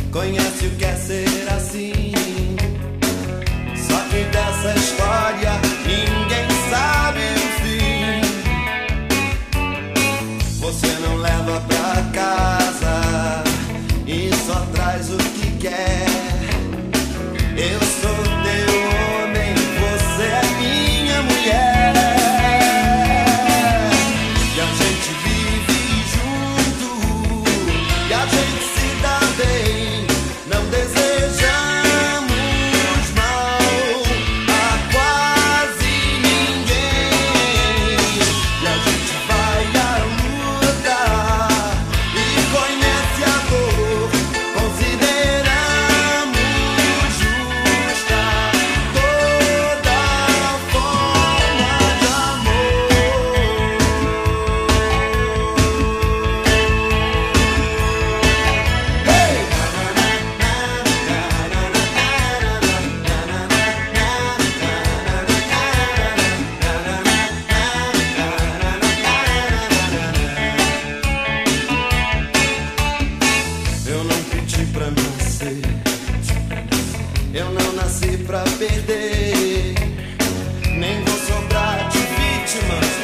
conhece o que é ser assim. Só que dessa história ninguém sabe o fim. Você não leva pra casa e só traz o que quer. Eu sou teu homem, você é minha mulher. E a gente vive junto, e a gente se dá bem. Não desejamos mal a quase ninguém. E a gente vai à luta e conhece a dor. Consideramos justa toda forma de amor. Hey! Eu não pedi pra nascer, eu não nasci pra perder, nem vou sobrar de vítimas